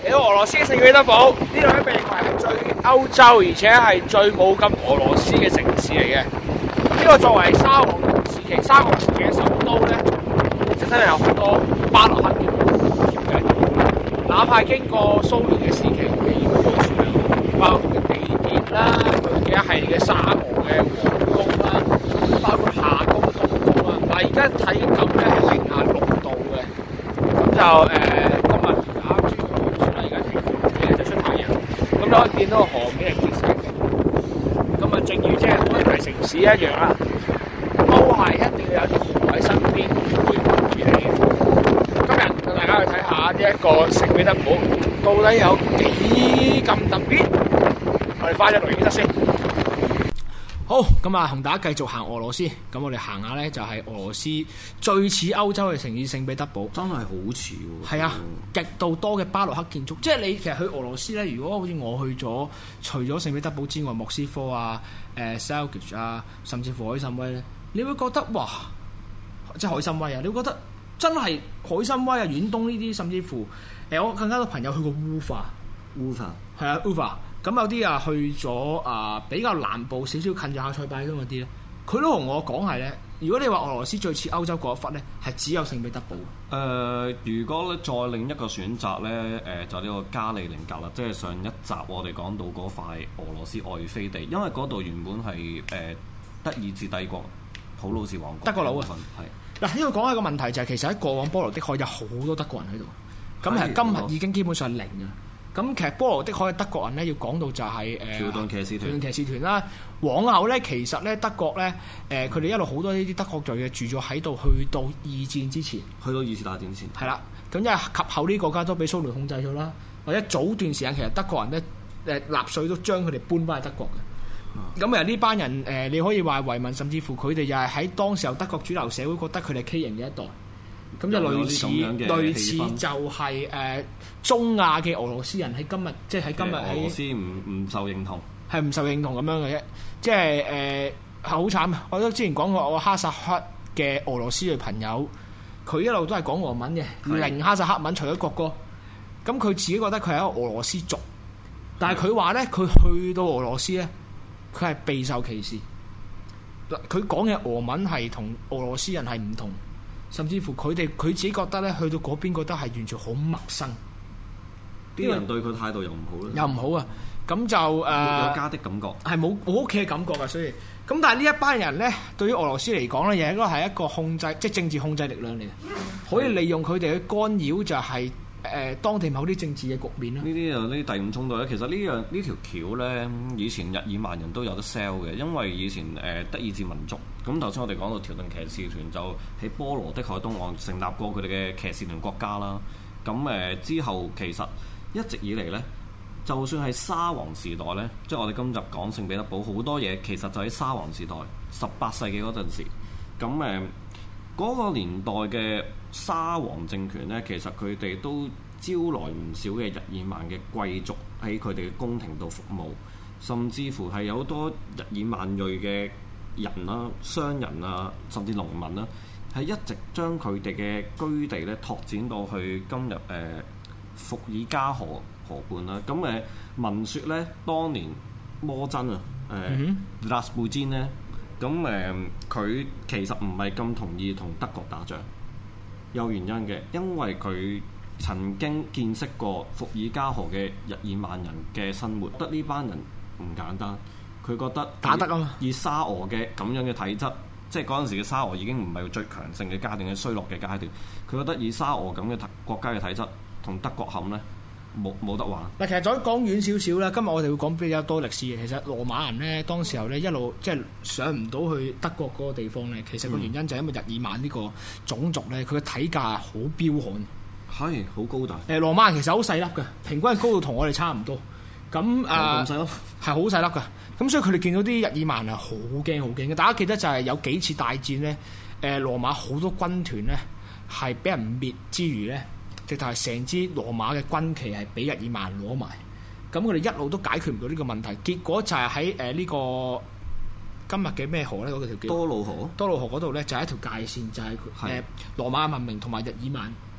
嚟到俄羅斯嘅聖彼得堡，呢度咧被認為係最歐洲而且係最冇咁俄羅斯嘅城市嚟嘅。呢個作為沙皇時期嘅首都咧，就真係有好多巴洛克嘅建築，哪怕經過蘇聯嘅時期嘅依個傳統，包括地鐵啦，佢嘅一系列嘅沙俄嘅皇宮啦，包括夏宮、冬宮啦。嗱，而家睇咁咧係零下6度嘅，咁就今日啱轉出嚟而家聽日就出太陽，咁你可以見到河面係結色嘅。咁啊，正如即係好多大城市一樣啦，都係一定要有條河喺身邊陪伴住你嘅。今日同大家去睇下呢一個聖彼得堡到底有幾咁特別。我哋翻咗錄影室先。好，咁啊，同大家繼續行俄羅斯。咁我哋行下咧，就係俄羅斯最似歐洲嘅城市聖彼得堡。 真係好似喎。 係啊，極度多嘅巴洛克建築。即係你其實去俄羅斯咧，如果好似我去咗，除咗聖彼得堡之外，莫斯科啊、Selgic 啊，甚至乎海參崴咧，你會覺得哇，即係海參崴啊，你會覺得真係海參崴啊、遠東呢啲，甚至乎我更加多朋友去過烏法。係啊，烏法。咁有啲啊去咗比較南部少少近咗下塞拜疆嗰啲咧，佢都同我講係咧，如果你話俄羅斯最似歐洲嗰一忽咧，係只有聖彼得堡。 如果咧再另一個選擇咧，就呢個加里寧格啦，即係上一集我哋講到嗰塊俄羅斯外飛地，因為嗰度原本係德意志帝國普魯士王國德國佬啊，係嗱，呢度講一個問題就係、是、其實喺過往波羅的海有好多德國人喺度，咁其實今日已經基本上零啊。咁其實波羅的海嘅德國人咧，要講到就係條頓騎士團啦。往後咧，其實咧德國咧佢哋一路好多呢啲德國裔嘅住咗喺度，去到二戰之前， 去到二次大戰前係啦。咁因為及後呢啲國家都俾蘇聯控制咗啦，或者早段時間其實德國人咧納粹都將佢哋搬翻去德國嘅。咁呢班人你可以話遺民，甚至乎佢哋又係喺當時候德國主流社會覺得佢哋係畸形嘅一代。咁就類似就係中亞嘅俄羅斯人喺今日，即係喺今日喺俄羅斯唔受認同， 係唔受認同咁樣嘅啫。即係好慘啊！我都之前講過，我哈薩克嘅俄羅斯嘅朋友，佢一路都係講俄文嘅，零哈薩克文，除咗國歌。咁佢自己覺得佢係一個俄羅斯族，但係佢話咧，佢去到俄羅斯咧，佢係備受歧視。佢講嘅俄文係同俄羅斯人係唔同。甚至乎佢自己覺得咧，去到嗰邊覺得係完全好陌生， 啲人對佢態度又唔好咧， 又唔好啊！咁就有家的感覺， 係冇屋企嘅感覺啊！所以咁，但係呢一班人咧，對於俄羅斯嚟講咧，亦應該係一個控制，即係政治控制力量嚟嘅，可以利用佢哋去干擾就係當地某啲政治嘅局面啦。 呢啲就呢第五衝突咧，其實呢條橋咧，以前日耳曼人都有得 sell 嘅，因為以前德意志民族。咁頭先我哋講到條頓騎士團就喺波羅的海東岸成立過佢哋嘅騎士團國家啦。咁之後其實一直以嚟呢，就算係沙皇時代呢，即係我哋今日講聖彼得堡好多嘢，其實就喺沙皇時代18世紀嗰陣時。咁嗰個年代嘅沙皇政權呢，其實佢哋都招來唔少嘅日耳曼嘅貴族喺佢哋嘅宮廷度服務，甚至乎係有好多日耳曼裔嘅人啦、商人啊，甚至農民啦，係一直將佢哋嘅居地咧拓展到去今日伏爾加河畔啦。咁聞說咧，當年摩真啊，拉斯普京咧，咁佢其實唔係咁同意同德國打仗，有原因嘅，因為佢曾經見識過伏爾加河嘅日耳曼人嘅生活，覺得呢班人唔簡單。佢覺得打得啊嘛， 以沙俄嘅咁樣嘅體質，即係嗰陣時嘅沙俄已經唔係最強盛嘅階段，嘅衰落嘅階段。佢覺得以沙俄咁嘅國家嘅體質同德國冚咧，冇得玩。 嗱，其實再講遠少少啦，今日我哋會講比較多歷史嘅。其實羅馬人咧，當時候咧一路即係上唔到去德國嗰個地方咧，其實個原因就係因為日耳曼呢個種族咧，佢嘅體格好彪悍， 係好高大。 羅馬人其實好細粒嘅，平均高度同我哋差唔多。咁咁細粒係好細粒㗎。咁所以佢哋見到啲日耳曼係好驚好驚嘅。大家記得就係有幾次大戰咧，羅馬好多軍團咧係俾人滅之餘咧，直頭係成支羅馬嘅軍旗係俾日耳曼攞埋。咁佢哋一路都解決唔到呢個問題，結果就係喺呢個今日嘅咩河咧？嗰條叫多瑙河嗰度咧就係一條界線，就係羅馬文明同埋日耳曼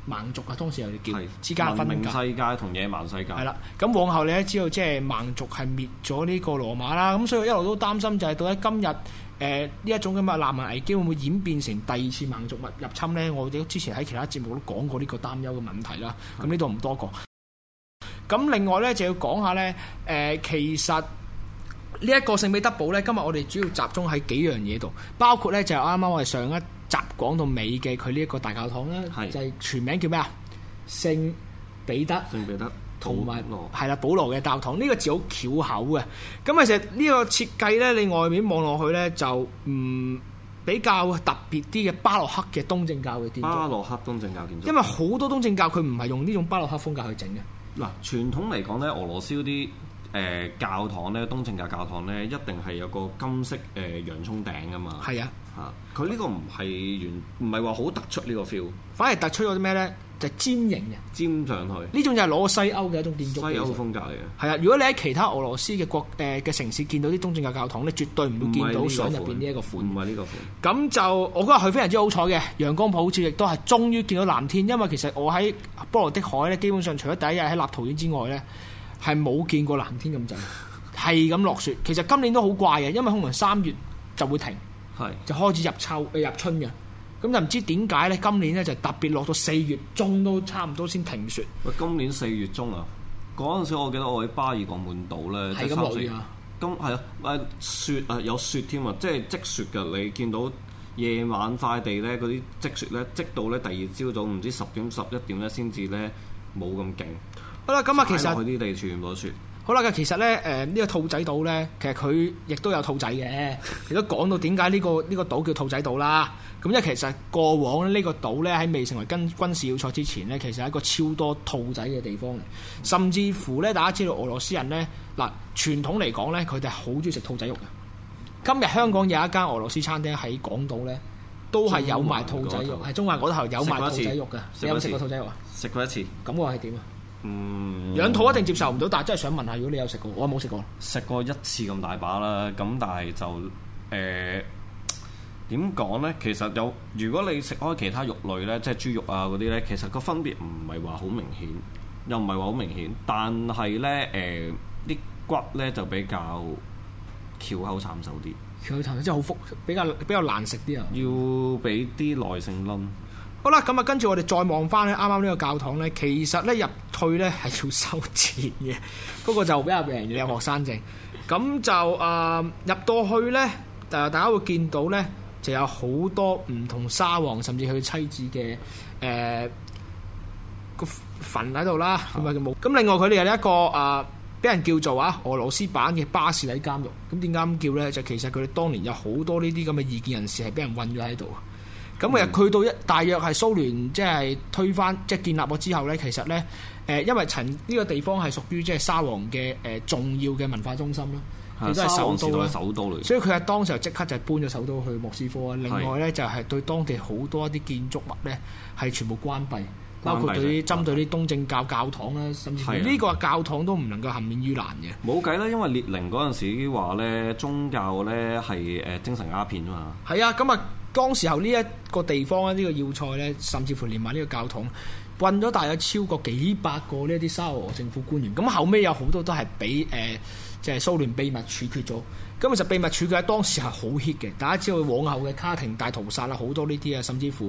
蠻族啊，當時又叫係之間分文明界。 世界同野蠻世界。 係啦，咁往後你都知道，即係蠻族係滅咗呢個羅馬啦，咁所以我一路都擔心就係到底今日呢一種咁嘅難民危機會唔會演變成第二次蠻族入侵呢？我哋之前喺其他節目都講過呢個擔憂嘅問題啦，咁呢度唔多講。咁另外呢，就要講下呢，其實呢一個聖彼得堡呢，今日我哋主要集中喺幾樣嘢度，包括呢，就係啱啱我哋上一集講到尾嘅佢呢一個大教堂啦，就係全名叫咩啊？聖彼得同埋係啦，保羅嘅教堂，呢個字好巧口嘅。咁其實呢個設計呢，你外面望落去呢，就比較特別啲嘅巴洛克嘅東正教嘅建築。 巴洛克東正教建築，因為好多東正教佢唔係用呢種巴洛克風格去整嘅。 嗱，傳統嚟講咧，俄羅斯嗰啲教堂咧，東正教教堂咧，一定係有個金色洋葱頂噶嘛。係啊，佢呢個唔係話好突出呢個 feel， 反而突出咗啲咩咧？就係尖形嘅， 尖上去。呢種就係攞西歐嘅一種建築。 西歐風格嚟嘅。係啊，如果你喺其他俄羅斯嘅嘅城市見到啲東正教教堂咧，絕對唔會見到相入邊呢一個款。 唔係呢個款。咁就我嗰日去非常之好彩嘅，陽光普照，亦都係終於見到藍天。因為其實我喺波羅的海咧，基本上除咗第一日喺立陶宛之外咧，係冇見過藍天咁滯，係咁落雪。其實今年都好怪嘅，因為可能3月就會停，就開始入春嘅。咁就唔知點解咧？今年咧就特別落到4月中都差唔多先停雪。 喂，今年4月中啊！嗰陣時我記得我喺巴爾幹半島咧， 係咁落雨啊！ 咁係啊，雪啊有雪添啊，即係積雪㗎。你見到夜晚塊地咧嗰啲積雪咧，積到咧第二朝早唔知10點11點咧先至咧冇咁勁。好啦，咁啊其實佢啲地全部雪。 好啦，其實咧呢個兔仔島咧，其實佢亦都有兔仔嘅，亦都講到點解呢個島叫兔仔島啦。咁因為其實過往呢個島咧喺未成為軍事要塞之前咧，其實係一個超多兔仔嘅地方嚟。甚至乎咧，大家知道俄羅斯人咧嗱傳統嚟講咧，佢哋係好中意食兔仔肉嘅。今日香港有一間俄羅斯餐廳喺港島咧，都係有賣兔仔肉，係中環嗰頭有賣兔仔肉嘅。你有冇食過兔仔肉啊？ 食過一次。 咁我係點啊？養兔一定接受唔到，但係真係想問下，如果你有食過，我冇食過。 食過一次咁大把啦，咁但係就點講呢？其實如果你食開其他肉類呢，即係豬肉啊嗰啲呢，其實個分別唔係話好明顯，又唔係話好明顯，但係呢啲骨呢就比較翹口慘手啲。 翹口慘手即係好比較難食啲啊！ 要俾啲耐性撚。 好啦，咁啊，跟住我哋再望翻咧，啱啱呢個教堂咧，其實咧入去咧係要收錢嘅，嗰個就比較平，有學生證。咁就入到去咧，大家會見到咧，就有好多唔同沙皇甚至佢妻子嘅個墳喺度啦，咁啊冇。咁另外佢哋有一個俾人叫做俄羅斯版嘅巴士底監獄。咁點解咁叫咧？就其實佢哋當年有好多呢啲咁嘅異見人士係俾人韞咗喺度。咁其實去到大約係蘇聯即係推翻即係建立咗之後咧，其實咧因為呢個地方係屬於即係沙皇嘅重要嘅文化中心啦，亦都係首都啦，所以佢喺當時就即刻就搬咗首都去莫斯科啊。另外咧就係對當地好多一啲建築物咧係全部關閉，包括對啲針對啲東正教教堂啦，甚至乎呢個教堂都唔能夠幸免於難嘅。 冇計啦，因為列寧嗰陣時話咧宗教咧係精神鴉片啊嘛。 係啊，咁啊。當時候呢一個地方咧，呢個要塞咧，甚至乎連埋呢個教堂，運咗大約超過幾百個呢一啲沙俄政府官員。咁後尾有好多都係俾即係蘇聯秘密處決咗。咁其實秘密處決喺當時係好 hit 嘅。大家知道往後嘅卡廷大屠殺啦，好多呢啲啊，甚至乎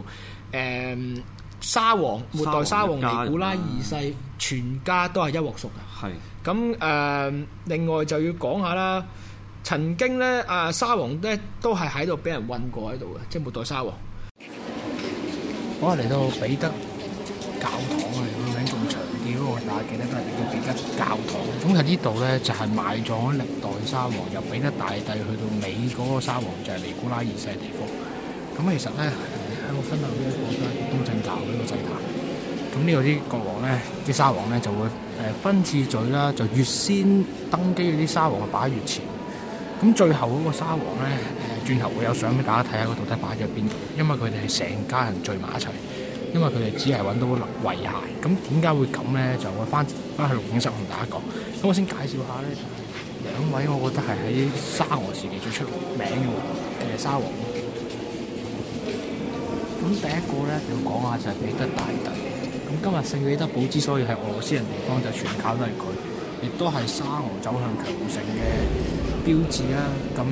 末代沙皇尼古拉二世全家都係一鑊熟嘅。係。咁另外就要講下啦。曾經咧，沙皇咧都係喺度俾人韞過喺度嘅，即係末代沙皇。我嚟到彼得教堂啊，個名咁長啲嗰個，大家記得都係叫彼得教堂。咁喺呢度咧就係埋葬歷代沙皇，由彼得大帝去到尾嗰個沙皇就係尼古拉二世嘅地方。咁其實咧喺我分享呢一個都係東正教呢個祭壇。咁呢個啲國王咧，啲沙皇咧就會分次序啦，就越先登基嗰啲沙皇就擺越前。咁最後嗰個沙皇咧，轉頭會有相俾大家睇下，佢到底擺咗邊度？因為佢哋係成家人聚埋一齊，因為佢哋只係揾到遺骸。咁點解會咁咧？就會翻去錄影室同大家講。咁我先介紹下咧，就係兩位我覺得係喺沙俄時期最出名嘅沙皇。咁第一個咧要講下就係彼得大帝。 今日聖彼得堡之所以係俄羅斯人地方，就全靠都係佢，亦都係沙俄走向強盛嘅標誌啦。咁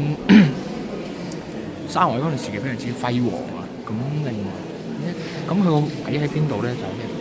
沙俄嗰段時期非常之輝煌啊。咁另外，咁佢個位喺邊度咧？就係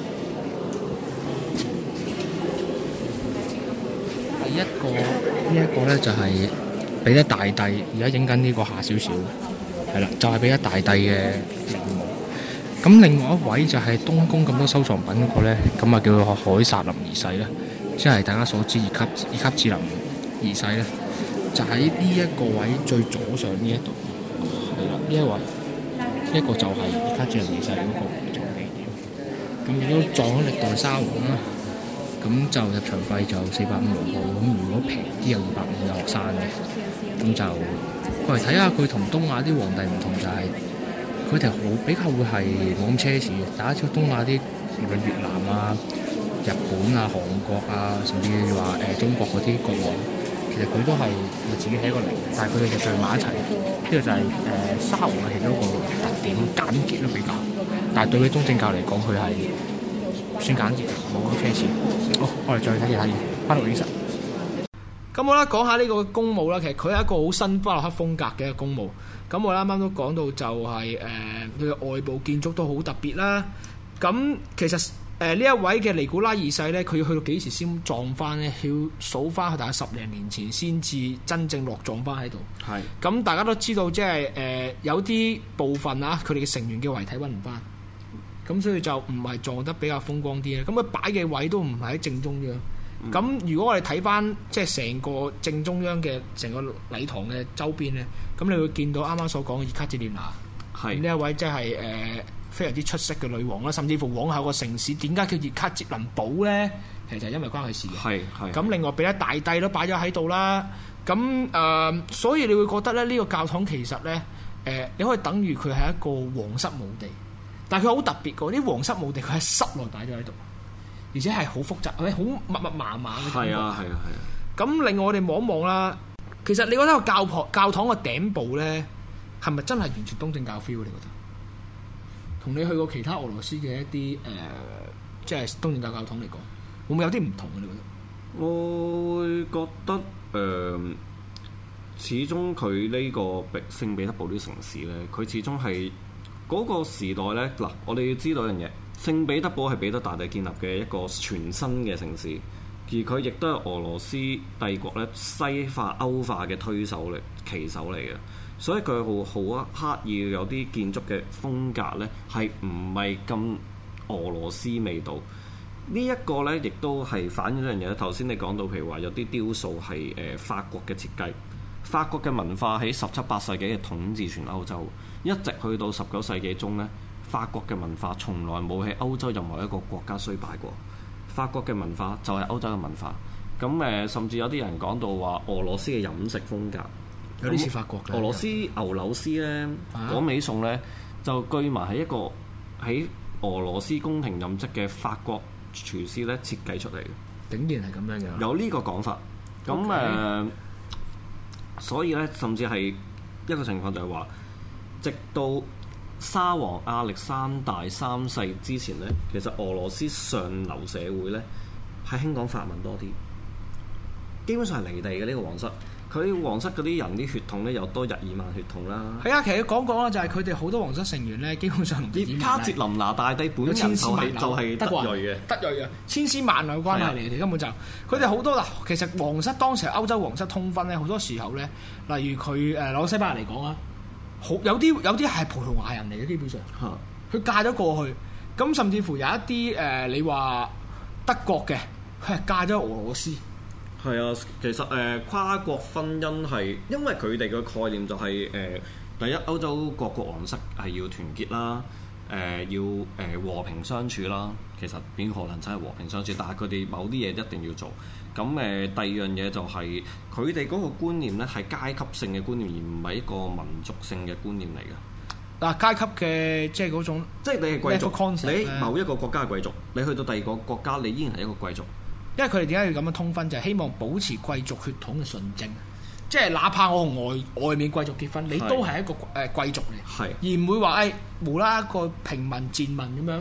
第一個呢一個咧，就係彼得大帝。而家影緊呢個下少少，係啦，就係彼得大帝嘅陵墓。咁另外一位就係東宮咁多收藏品嗰個咧，咁啊叫做凱薩琳二世啦，即係大家所知爾卡捷琳二世咧，就喺呢一個位最左上呢一度，係啦，呢一位，呢一個就係爾卡捷琳二世嗰個埋葬地點。咁亦都撞咗歷代沙皇啦，咁就入場費就450號，咁如果平啲有250嘅學生嘅，咁就過嚟睇下佢同東亞啲皇帝唔同就係、佢哋比較會係冇咁奢侈嘅，大家知道東亞啲無論越南啊、日本啊、韓國啊，甚至話中國嗰啲國王，其實佢都係自己起一個陵，但係佢哋就聚埋一齊。呢個就係沙皇嘅其中一個特點，簡潔都比較。但係對佢東正教嚟講，佢係算簡潔，冇咁奢侈。好，我哋再睇下嘢，翻到錄影室。咁我咧講下呢個公墓啦，其實佢係一個好新巴洛克風格嘅一個公墓。咁我啱啱都講到就係佢嘅外部建築都好特別啦。咁其實呢一位嘅尼古拉二世咧，佢要去到幾時先葬翻咧？要數翻去大概10零年前先至真正落葬翻喺度。係。咁大家都知道，即係有啲部分啊，佢哋嘅成員嘅遺體揾唔翻，咁所以就唔係葬得比較風光啲咧。咁佢擺嘅位都唔係喺正中央。咁如果我哋睇翻即係成個正中央嘅成個禮堂嘅周邊咧，咁你會見到啱啱所講嘅葉卡捷琳娜，呢一位即係非常之出色嘅女王啦，甚至乎往後個城市點解叫葉卡捷琳堡咧？其實就係因為關佢事嘅。咁另外彼得大帝都擺咗喺度啦。咁所以你會覺得咧，呢個教堂其實咧你可以等於佢係一個皇室墓地，但係佢好特別嘅，啲皇室墓地佢喺室內擺咗喺度。而且係好複雜，好密麻麻嘅。係啊。咁另外我哋望一望啦，其實你覺得個教堂個頂部咧，係咪真係完全東正教 feel？你覺得？同你去過其他俄羅斯嘅一啲即係東正教教堂嚟講，會唔會有啲唔同嘅？你覺得？ 我會覺得始終佢呢個聖彼得堡呢個城市咧，佢始終係嗰個時代咧。嗱，我哋要知道一樣嘢。聖彼得堡係彼得大帝建立嘅一個全新嘅城市，而佢亦都係俄羅斯帝國咧西化歐化嘅旗手嚟嘅，所以佢好刻意有啲建築嘅風格咧係唔係咁俄羅斯味道。呢一個咧亦都係反映一樣嘢。頭先你講到譬如話有啲雕塑係法國嘅設計，法國嘅文化喺17、18世紀嘅統治全歐洲，一直去到19世紀中咧。法國嘅文化從來冇喺歐洲任何一個國家衰敗過。法國嘅文化就係歐洲嘅文化。咁甚至有啲人講到話俄羅斯嘅飲食風格有啲似法國嘅。 俄羅斯牛柳絲咧，嗰味餸咧就據埋係一個喺俄羅斯宮廷任職嘅法國廚師咧設計出嚟嘅。 竟然係咁樣嘅。有呢個講法。咁所以咧，甚至係一個情況就係話，直到沙皇亞歷山大三世之前呢，其實俄羅斯上流社會呢係興講法文多啲，基本上係離地嘅呢個皇室。佢皇室嗰啲人啲血統呢又多日耳曼血統啦。係啊， 其實講啦，就係佢哋好多皇室成員呢，基本上葉卡捷琳娜大帝本人就係德裔嘅， 德裔啊，千絲萬縷關係嚟嘅，根本就佢哋好多嗱。其實皇室當時歐洲皇室通婚呢，好多時候呢，例如佢攞西班牙嚟講啊。有啲係葡萄牙人嚟嘅，基本上佢嫁咗過去，咁甚至乎有一啲你話德國嘅，佢係嫁咗俄羅斯。 係啊，其實跨國婚姻係因為佢哋嘅概念就係第一，歐洲各國皇室係要團結啦，要和平相處啦。其實邊可能真係和平相處？但係佢哋某啲嘢一定要做。咁第二樣嘢就係佢哋嗰個觀念咧係階級性嘅觀念，而唔係一個民族性嘅觀念嚟嘅。 嗱，階級嘅即係嗰種， 即係你係貴族，你某一個國家係貴族，你去到第二個國家，你依然係一個貴族。因為佢哋點解要咁樣通婚，就係希望保持貴族血統嘅純正。即係哪怕我同外面貴族結婚，你都係一個貴族嚟，而唔會話無啦啦一個平民賤民咁樣。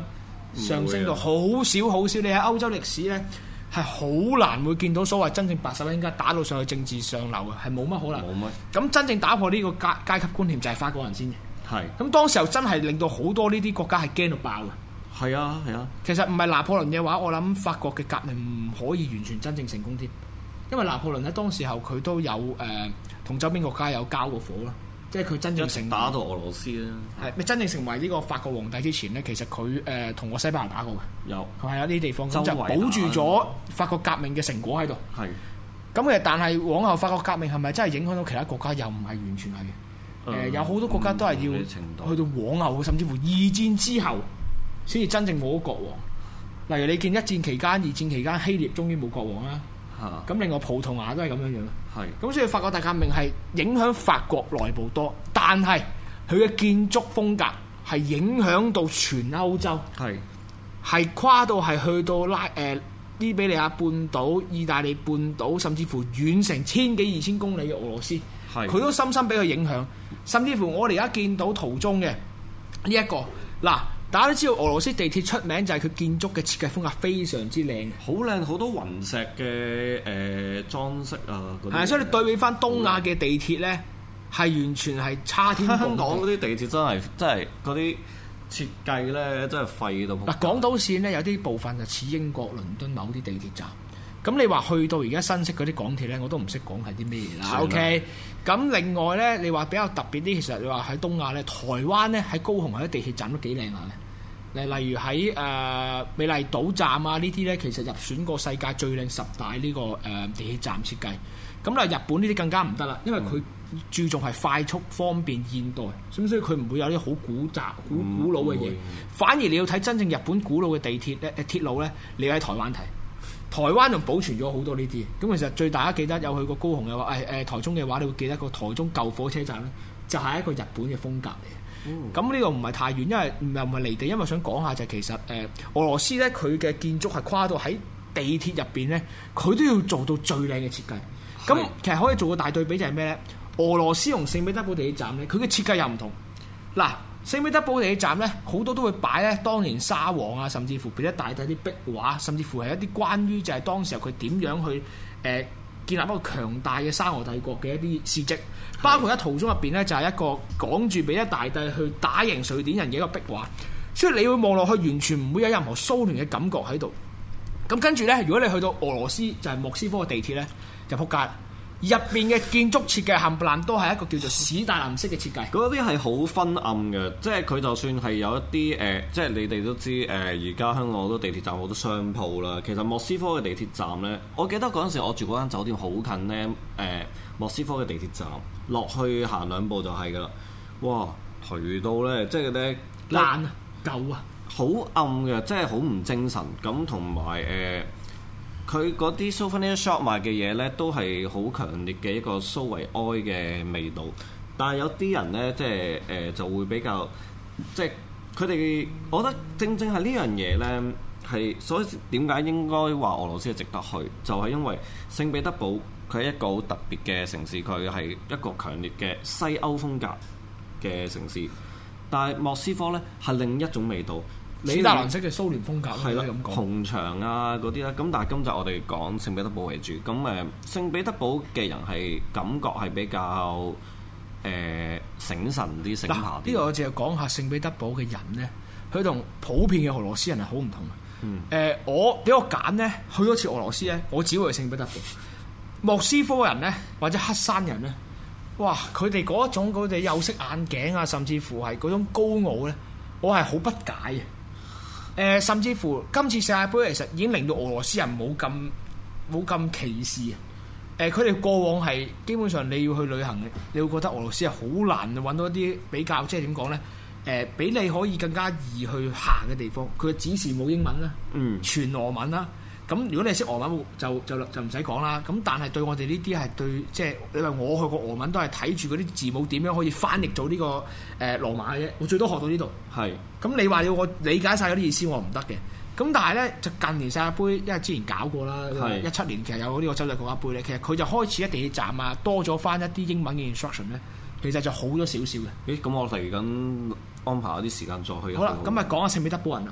上升到好少好少。你喺歐洲歷史咧係好難會見到所謂真正白手興家打到上去政治上流嘅，係冇乜可能。 冇乜。 咁真正打破呢個階級觀念就係法國人先嘅。 係。 咁當時候真係令到好多呢啲國家係驚到爆嘅。 係啊係啊。 其實唔係拿破崙嘅話，我諗法國嘅革命唔可以完全真正成功添，因為拿破崙喺當時候佢都有同周邊國家有交過火啦。即係佢真正打到俄羅斯啦， 係咪真正成為呢個法國皇帝之前咧？其實佢同個西班牙打過嘅， 有佢係有呢啲地方咁就保住咗法國革命嘅成果喺度。 係咁嘅，但係往後法國革命係咪真係影響到其他國家？又唔係完全係嘅。有好多國家都係要去到往後，甚至乎二戰之後先至真正冇咗國王。例如你見一戰期間、二戰期間，希臘終於冇國王啦。咁另外葡萄牙都係咁樣樣。咁所以法國大革命係影響法國內部多，但係佢嘅建築風格係影響到全歐洲，係跨到係去到伊比利亞半島、意大利半島，甚至乎遠成千幾2000公里嘅俄羅斯，佢都深深俾佢影響。甚至乎我哋而家見到途中嘅呢一個嗱。大家都知道俄羅斯地鐵出名就係佢建築嘅設計風格非常之靚， 好靚，好多雲石嘅裝飾啊嗰啲。係， 所以你對比翻東亞嘅地鐵咧，係完全係差天共地。 香港嗰啲地鐵真係嗰啲設計咧，真係廢到。 嗱，港島線咧有啲部分就似英國倫敦某啲地鐵站。咁你話去到而家新式嗰啲港鐵咧，我都唔識講係啲咩嘢啦。OK，咁另外咧，你話比較特別啲，其實你話喺東亞咧，台灣咧喺高雄喺啲地鐵站都幾靚下嘅。例如喺美麗島站啊呢啲咧，其實入選過世界最靚10大呢個地鐵站設計。咁啦，日本呢啲更加唔得啦，因為佢注重係快速、方便、現代，咁所以佢唔會有啲好古老嘅嘢。反而你要睇真正日本古老嘅地鐵咧、鐵路咧，你要喺台灣睇。台灣仲保存咗好多呢啲，咁其實最大家記得有去過高雄嘅話，台中嘅話，你會記得個台中舊火車站咧，就係一個日本嘅風格嚟。咁呢個唔係太遠，因為唔係離地，因為想講下就係其實俄羅斯咧，佢嘅建築係跨到喺地鐵入邊咧，佢都要做到最靚嘅設計。咁其實可以做個大對比就係咩咧？俄羅斯同聖彼得堡地鐵站咧，佢嘅設計又唔同。嗱，聖彼得堡地鐵站咧，好多都會擺咧當年沙皇啊，甚至乎彼得大帝啲壁畫，甚至乎係一啲關於就係當時候佢點樣去建立一個強大嘅沙俄帝國嘅一啲事蹟，包括喺途中入邊咧就係一個講住彼得大帝去打贏瑞典人嘅一個壁畫，所以你會望落去完全唔會有任何蘇聯嘅感覺喺度。咁跟住咧，如果你去到俄羅斯就係莫斯科嘅地鐵咧，就撲街。入邊嘅建築設計冚唪唥都係一個叫做史達林式嘅設計， 嗰啲係好昏暗嘅，即係佢就算係有一啲即係你哋都知而家香港好多地鐵站好多商鋪啦。其實莫斯科嘅地鐵站呢，我記得嗰陣時我住嗰間酒店好近呢，莫斯科嘅地鐵站落去行2步就係㗎啦。哇，頹到呢，即係咧爛啊，舊啊， 好暗嘅，即係好唔精神咁，同埋佢嗰啲 souvenir shop 賣嘅嘢咧，都係好強烈嘅一個蘇維埃嘅味道。但係有啲人咧，即係就會比較，即係佢哋，我覺得正正係呢樣嘢咧，係所以點解應該話俄羅斯係值得去，就係因為聖彼得堡佢係一個好特別嘅城市，佢係一個強烈嘅西歐風格嘅城市。但係莫斯科咧係另一種味道。 史達林式嘅蘇聯風格係啦，紅牆啊嗰啲啦，咁但係今集我哋講聖彼得堡為主，咁聖彼得堡嘅人係感覺係比較醒神啲、醒下啲。呢個我淨係講下聖彼得堡嘅人咧，佢同普遍嘅俄羅斯人係好唔同嘅。我俾我揀咧，去多次俄羅斯咧，我只會去聖彼得堡。莫斯科人咧，或者黑山人咧，哇！佢哋嗰種佢哋有色眼鏡啊，甚至乎係嗰種高傲咧，我係好不解嘅。甚至乎今次世界盃其實已經令到俄羅斯人冇咁歧視啊！佢哋過往係基本上你要去旅行，你會覺得俄羅斯係好難揾到一啲比較，即係點講呢？俾你可以更加易去行嘅地方。佢嘅指示冇英文啦，全俄文啦。咁如果你係識俄文就唔使講啦。咁但係對我哋呢啲係對，即係你話我去過俄文都係睇住嗰啲字母點樣可以翻譯做呢個羅馬嘅啫。我最多學到呢度。係。咁你話要我理解晒嗰啲意思，我唔得嘅。咁但係咧，就近年世界盃，因為之前搞過啦，17年其實有呢個洲際國家盃咧，其實佢就開始喺地鐵站啊多咗翻一啲英文嘅 instruction 咧，其實就好咗少少嘅。 咁我嚟緊安排一啲時間再去。 好啦，咁啊講下聖彼得堡人啦。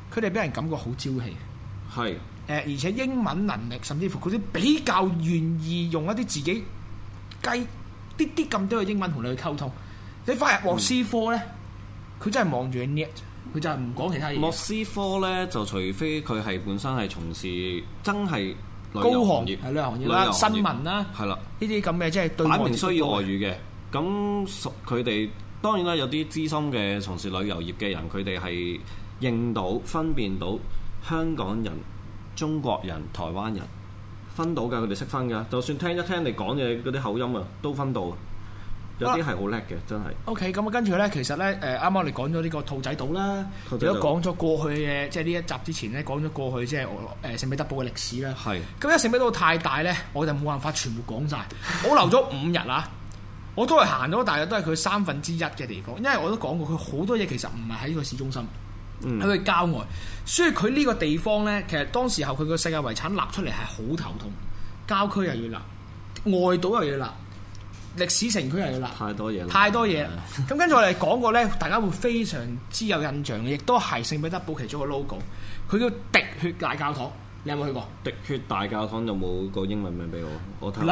佢哋俾人感覺好朝氣。 係而且英文能力，甚至乎佢哋比較願意用一啲自己啲咁多嘅英文同你去溝通。你翻入莫斯科咧，佢真係望住你，佢就係唔講其他嘢。 莫斯科咧就除非佢係本身係從事真係高行業係旅遊行業啦、新聞啦， 係啦， 呢啲咁嘅即係對外擺明需要外語嘅。咁佢哋當然啦，有啲資深嘅從事旅遊業嘅人，佢哋係認到分辨到香港人、中國人、台灣人分到㗎，佢哋識分㗎。就算聽一聽你講嘢嗰啲口音啊，都分到。有啲係好叻嘅，真係。 OK， 咁啊，跟住咧，其實咧，啱啱我哋講咗呢個兔仔島啦，亦都講咗過去嘅，即係呢一集之前咧，講咗過去即係聖彼得堡嘅歷史啦。係。咁因為聖彼得堡太大咧，我就冇辦法全部講晒。我留咗5日啊，我都係行咗大約都係佢1/3嘅地方，因為我都講過，佢好多嘢其實唔係喺個市中心，喺佢郊外，所以佢呢個地方咧，其實當時候佢個世界遺產立出嚟係好頭痛，郊區又要立，外島又要立。歷史城區又要立，太多嘢。咁跟住我哋講過咧，大家會非常之有印象嘅，亦都係聖彼得堡其中一個 logo。佢叫滴血大教堂，你有冇去過？滴血大教堂有冇個英文名俾我睇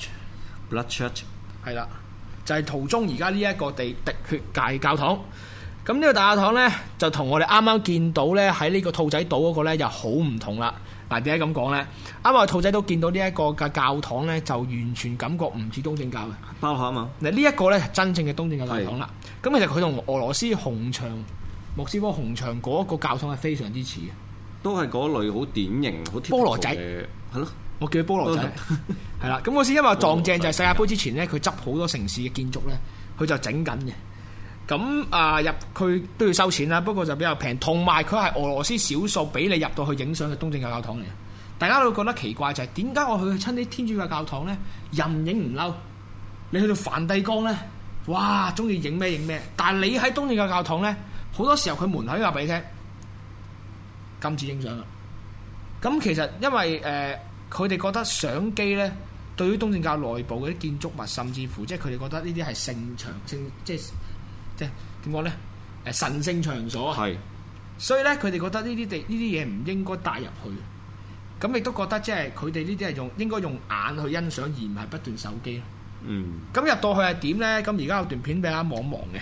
Blood Church 係啦，就係途中而家呢一個滴血大教堂。咁呢個大教堂咧，就同我哋啱啱見到咧喺呢個兔仔島嗰個咧，又好唔同啦。嗱，點解咁講咧？啱啱我兔仔島見到呢一個嘅教堂咧，就完全感覺唔似東正教嘅包下啊嘛。嗱，呢一個咧係真正嘅東正教教堂啦。咁其實佢同俄羅斯紅牆、莫斯科紅牆嗰個教堂係非常之似嘅，都係嗰類好典型、好菠蘿仔係咯。我叫佢菠蘿仔係啦。咁嗰時因為撞正就係世界盃之前咧，佢執好多城市嘅建築咧，佢就整緊嘅。咁入佢都要收錢啦，不過就比較平，同埋佢係俄羅斯少數俾你入到去影相嘅東正教教堂嚟。大家都會覺得奇怪就係點解我去親啲天主教教堂咧，人影唔嬲，你去到梵蒂岡咧，哇，中意影咩影咩，但係你喺東正教教堂咧，好多時候佢門口話俾你聽禁止影相啦。咁其實因為佢哋覺得相機咧，對於東正教內部嗰啲建築物，甚至乎即係佢哋覺得呢啲係聖場即係點講咧？神聖場所啊，所以咧佢哋覺得呢啲嘢唔應該帶入去。咁亦都覺得即係佢哋呢啲係應該用眼去欣賞，而唔係不斷手機。咁入到去係點咧？咁而家有段片俾大家望一望嘅。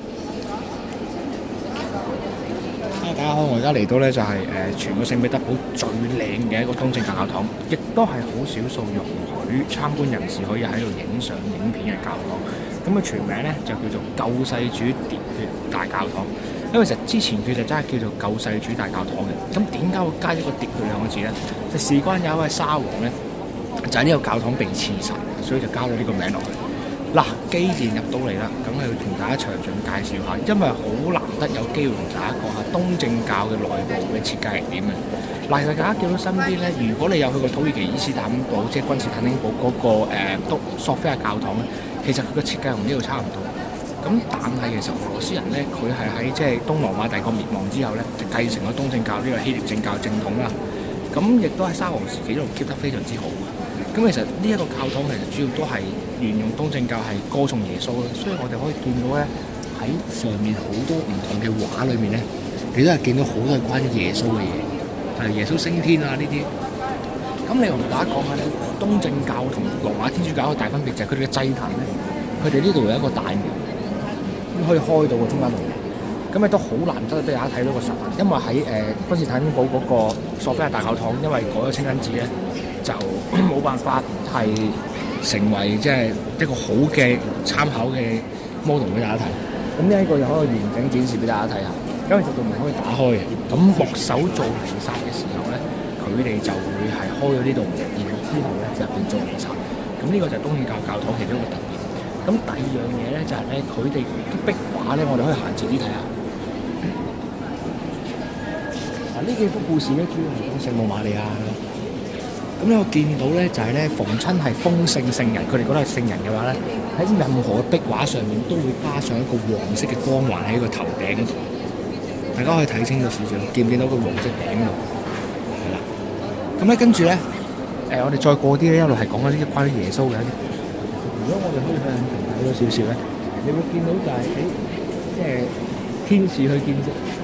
大家好，我而家嚟到咧就係全個聖彼得堡最靚嘅一個東正教教堂，亦都係好少數容許參觀人士可以喺度影相影片嘅教堂。咁佢全名咧就叫做救世主滴血大教堂，因為其實之前佢就真係叫做救世主大教堂嘅。咁點解會加一個滴血兩個字咧？就事關有一位沙皇咧，就喺呢個教堂被刺殺，所以就加咗呢個名落去。嗱，既然入到嚟啦，咁係要同大家詳盡介紹下，因為好難得有機會同大家講下東正教嘅內部嘅設計係點嘅。嗱，其實大家見到身邊咧，如果你有去過土耳其伊斯坦堡，即係君士坦丁堡嗰個索菲亞教堂咧，其實佢嘅設計同呢度差唔多。咁但係其實俄羅斯人咧，佢係喺即係東羅馬帝國滅亡之後咧，就繼承咗東正教呢個希臘正教正統啦。咁亦都喺沙皇時期一路 keep 得非常之好。咁其實呢一個教堂其實主要都係沿用東正教係歌頌耶穌啦，所以我哋可以見到咧喺上面好多唔同嘅畫裏面咧，你都係見到好多係關於耶穌嘅嘢，係耶穌升天啊呢啲。咁你同大家講下咧，東正教同羅馬天主教嘅大分別就係佢哋嘅祭壇咧，佢哋呢度有一個大門，可以開到個中間度。咁亦都好難得俾大家睇到個實物，因為喺君士坦丁堡嗰個索菲亞大教堂，因為改咗清真寺咧，就冇辦法係成為即係一個好嘅參考嘅 model 俾大家睇。咁呢一個就可以完整展示俾大家睇下。咁其實道門可以打開嘅。咁牧首做彌撒嘅時候咧，佢哋就會係開咗呢度門，然後之後咧就入邊做彌撒。咁呢個就係東正教教堂其中一個特別。咁第二樣嘢咧就係咧，佢哋啲壁畫咧，我哋可以行前啲睇下。嗱，呢幾幅故事咧，主要係講聖母瑪利亞。咁咧我見到咧就係咧，逢親係封聖聖人，佢哋覺得係聖人嘅話咧，喺任何壁畫上面都會加上一個黃色嘅光環喺個頭頂度。大家可以睇清楚少少，見唔見到個黃色頂度？係啦。咁咧跟住咧，我哋再過啲咧，一路係講緊啲關於耶穌嘅一啲。如果我哋可以向前睇多少少咧，你會見到就係即係天使去見耶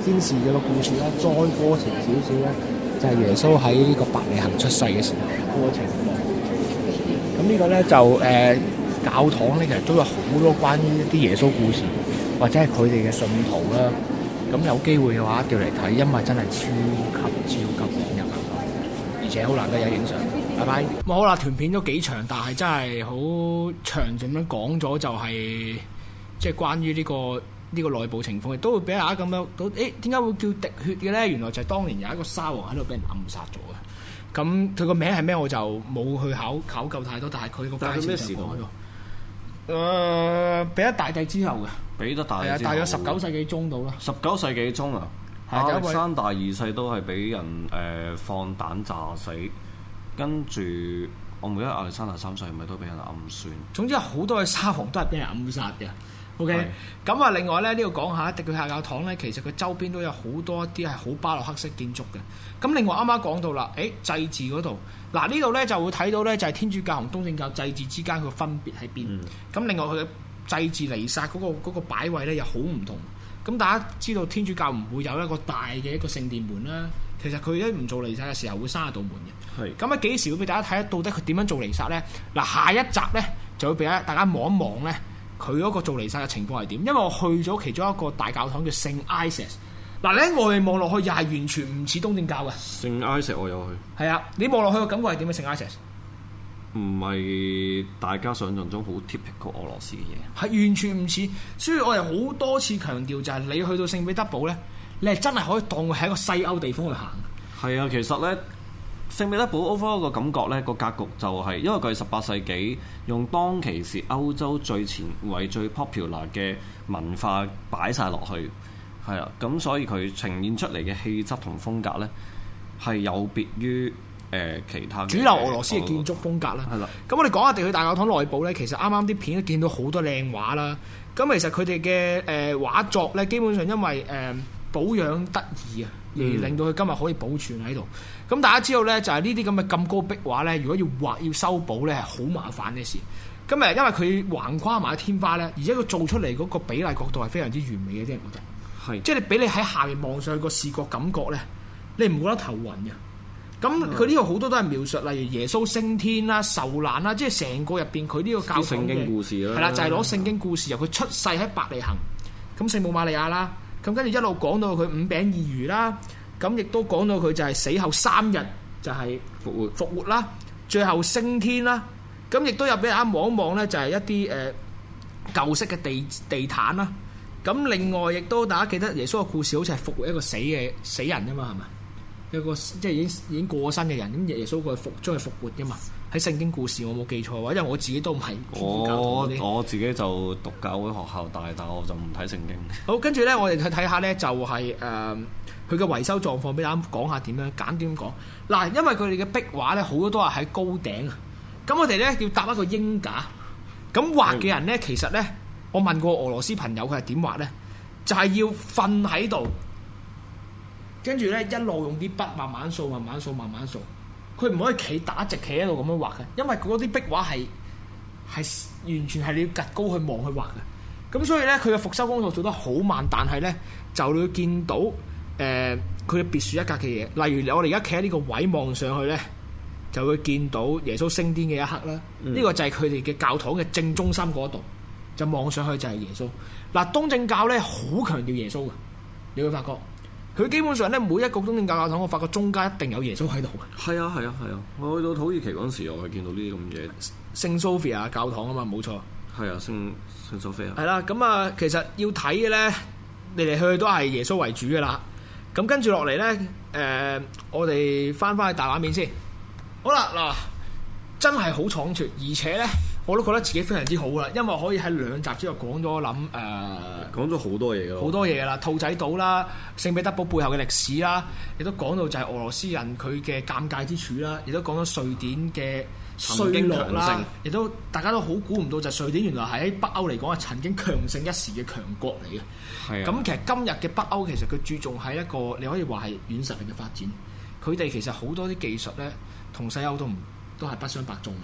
天使嘅個故事啦，再過程少少咧，就係耶穌喺呢個伯利恆出世嘅時候嗰個情況。咁呢個咧就教堂咧其實都有好多關於一啲耶穌故事，或者係佢哋嘅信徒啦。咁有機會嘅話，調嚟睇，因為真係超級引人，而且好難得有影相。拜拜。咁好啦，團片都幾長，但係真係好詳盡咁講咗，就係即係關於呢個內部情況，亦都會俾大家咁樣到，點解會叫滴血嘅咧？原來就係當年有一個沙皇喺度俾人暗殺咗嘅。咁佢個名係咩？我就冇去考究太多，但係佢個介紹就講咗。彼得大帝之後嘅。彼得大帝之後。大約19世紀中到啦。19世紀中啊！亞歷山大二世都係俾人放彈炸死，跟住我唔記得亞歷山大三世係咪都俾人暗算。總之好多嘅沙皇都係俾人暗殺嘅。OK，咁啊，另外咧呢度講下迪佢下教堂咧，其實佢周邊都有好多一啲係好巴洛克式建築嘅。咁另外啱啱講到啦，祭祀嗰度，嗱呢度咧就會睇到咧就係天主教同東正教祭祀之間佢分別喺邊。咁另外佢嘅祭祀彌撒嗰個擺位咧又好唔同。咁大家知道天主教唔會有一個大嘅一個聖殿門啦，其實佢一唔做彌撒嘅時候會閂一道門嘅。咁喺幾時會俾大家睇得到底佢點樣做彌撒咧？嗱，下一集咧就會俾大家望一望咧。佢嗰個做彌撒嘅情況係點？因為我去咗其中一個大教堂叫聖埃瑟。嗱，你喺外面望落去又係完全唔似東正教嘅。聖埃瑟我有去。係啊，你望落去嘅感覺係點嘅？聖埃瑟唔係大家想象中好 typical 俄羅斯嘅嘢，係完全唔似。所以我哋好多次強調就係你去到聖彼得堡咧，你係真係可以當佢係一個西歐地方去行。係啊，其實咧。聖彼得堡 overall 個感覺咧，個格局就係因為佢係18世紀用當其時歐洲最前衛最 popular 嘅文化擺晒落去，係啦，咁所以佢呈現出嚟嘅氣質同風格咧係有別於其他主流俄羅斯嘅建築風格啦。係啦，咁我哋講下地去大教堂內部咧，其實啱啱啲片都見到好多靚畫啦。咁其實佢哋嘅畫作咧，基本上因為保養得宜啊，而令到佢今日可以保存喺度。咁大家知道咧，就係呢啲咁嘅咁高壁畫咧，如果要畫要修補咧，係好麻煩嘅事。咁因為佢橫跨埋天花咧，而且佢做出嚟嗰個比例角度係非常之完美嘅，啲人覺得。係。即係你俾你喺下面望上去個視覺感覺咧，你唔覺得頭暈嘅。咁佢呢度好多都係描述，例如耶穌升天啦、受難啦，即係成個入邊佢呢個教堂嘅聖經故事啦。係啦，就係攞聖經故事由佢出世喺伯利恆，咁聖母瑪利亞啦，咁跟住一路講到佢5餅2魚啦。咁亦都講到佢就係死後3日就係復活啦，最後升天啦。咁亦都有俾大家望一望咧，就係一啲舊式嘅地毯啦。咁另外亦都大家記得耶穌嘅故事，好似係復活一個死人㗎嘛，係咪？一個即係已經過身嘅人，咁耶穌佢將佢復活㗎嘛。喺聖經故事我冇記錯嘅話，因為我自己都唔係天主教徒。我自己就讀教會學校大，但我就唔睇聖經。好，跟住咧，我哋去睇下咧，就係佢嘅維修狀況，俾大家講下點樣簡短講。嗱，因為佢哋嘅壁畫咧，好多都係喺高頂啊。咁我哋咧要搭一個鷹架。咁畫嘅人咧，其實咧，我問過俄羅斯朋友，佢係點畫咧？就係要瞓喺度，跟住咧一路用啲筆慢慢掃，慢慢掃，慢慢掃。佢唔可以打直企喺度咁樣畫嘅，因為嗰啲壁畫係完全係你要趌高去望去畫嘅。咁所以咧，佢嘅復修工作做得好慢，但係咧就你會見到佢嘅別樹一格嘅嘢。例如我哋而家企喺呢個位望上去咧，就會見到耶穌升天嘅一刻啦。呢個就係佢哋嘅教堂嘅正中心嗰度，就望上去就係耶穌。嗱，東正教咧好強調耶穌嘅，你會發覺。佢基本上咧，每一個東正教教堂，我發覺中間一定有耶穌喺度嘅。係啊，係啊，係啊！我去到土耳其嗰陣時，我係見到呢啲咁嘢。聖 Sophia 教堂啊嘛，冇錯。係啊，聖 Sophia。係啦，咁啊，其實要睇嘅咧，嚟嚟去去都係耶穌為主嘅啦。咁跟住落嚟咧，我哋翻去大畫面先。好啦，嗱，真係好倉促，而且咧，我都覺得自己非常之好啦，因為可以喺2集之後講咗講咗好多嘢㗎，好多嘢啦，兔仔島啦，聖彼得堡背後嘅歷史啦，亦都講到就係俄羅斯人佢嘅尷尬之處啦，亦都講咗瑞典嘅衰落啦，亦都大家都好估唔到就係瑞典原來係喺北歐嚟講係曾經強盛一時嘅強國嚟嘅。係啊，咁其實今日嘅北歐其實佢注重喺一個你可以話係軟實力嘅發展，佢哋其實好多啲技術咧同西歐都係不相伯仲嘅。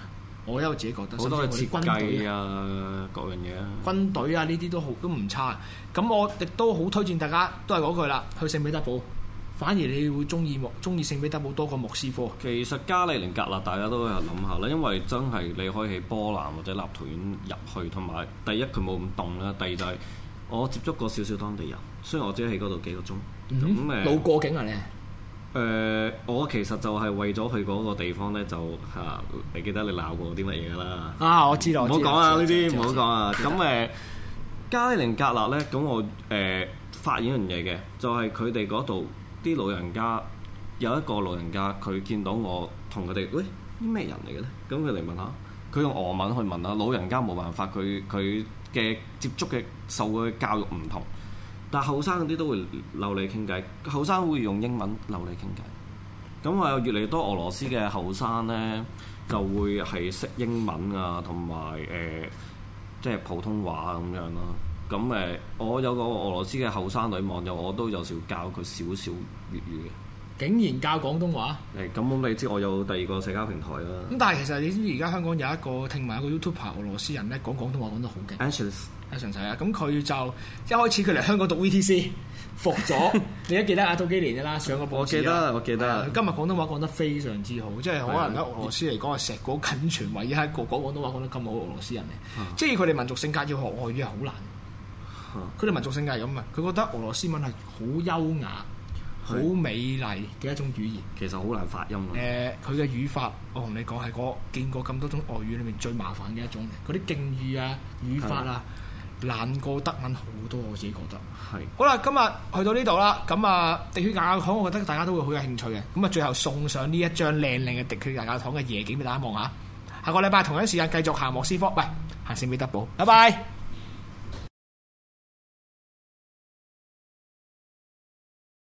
我因為自己覺得好多嘅設甚至我哋軍隊計啊，各樣嘢啊。 軍隊啊呢啲都唔差。咁我亦都好推薦大家，都係嗰句啦，去聖彼得堡。反而你會中意聖彼得堡多過莫斯科。 其實加里寧格勒大家都有諗下啦，因為真係你可以喺波蘭或者立陶宛入去，同埋第一佢冇咁凍啦，第二就係我接觸過少少當地人，雖然我只係喺嗰度幾個鐘。咁路過境啊你？ 我其實就係為咗去嗰個地方咧，就你記得你鬧過啲乜嘢㗎啦？ 啊，我知道。 唔好講啊呢啲，唔好講啊。咁加里寧格勒咧，咁我發現一樣嘢嘅，就係佢哋嗰度啲老人家，有一個老人家佢見到我同佢哋，喂，啲咩人嚟嘅咧？咁佢嚟問下，佢用俄文去問啦。老人家冇辦法，佢嘅接觸嘅受嘅教育唔同，但係後生嗰啲都會留你傾偈，後生會用英文留你傾偈。咁越嚟越多俄羅斯嘅後生咧，就會係識英文啊，同埋即係普通話咁樣咯。咁我有個俄羅斯嘅後生女網友，我都有時教佢少少粵語嘅。 竟然教廣東話？ 咁你知我有第二個社交平台啦。 咁但係其實你知唔知而家香港有一個聽聞一個 YouTuber 俄羅斯人咧講廣東話講得好勁。Anshels 係啊，咁佢就一開始佢嚟香港讀 VTC， 服咗。你都記得啊？早幾年啦，上個報紙我記得。 今日廣東話講得非常之好，即係可能喺俄羅斯嚟講係碩果僅存，唯一一個講廣東話講得咁好俄羅斯人嚟。即係佢哋民族性格要學外語係好難。佢哋民族性格係咁啊，佢覺得俄羅斯文係好優雅、好美麗嘅一種語言。 其實好難發音。 佢嘅語法，我同你講係我見過咁多種外語裏面最麻煩嘅一種。嗰啲敬語啊、語法啊，難過德文好多。我自己覺得。係。好啦，今日去到呢度啦。咁滴血大教堂，我覺得大家都會好有興趣嘅。咁最後送上呢一張靚靚嘅滴血大教堂嘅夜景俾大家望下。下個禮拜同一時間繼續行莫斯科，喂，行聖彼得堡。拜拜。